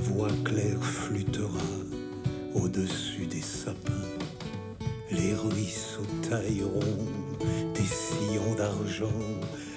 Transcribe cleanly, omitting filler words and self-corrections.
voix claire flûtera au-dessus des sapins. Les ruisseaux tailleront des sillons d'argent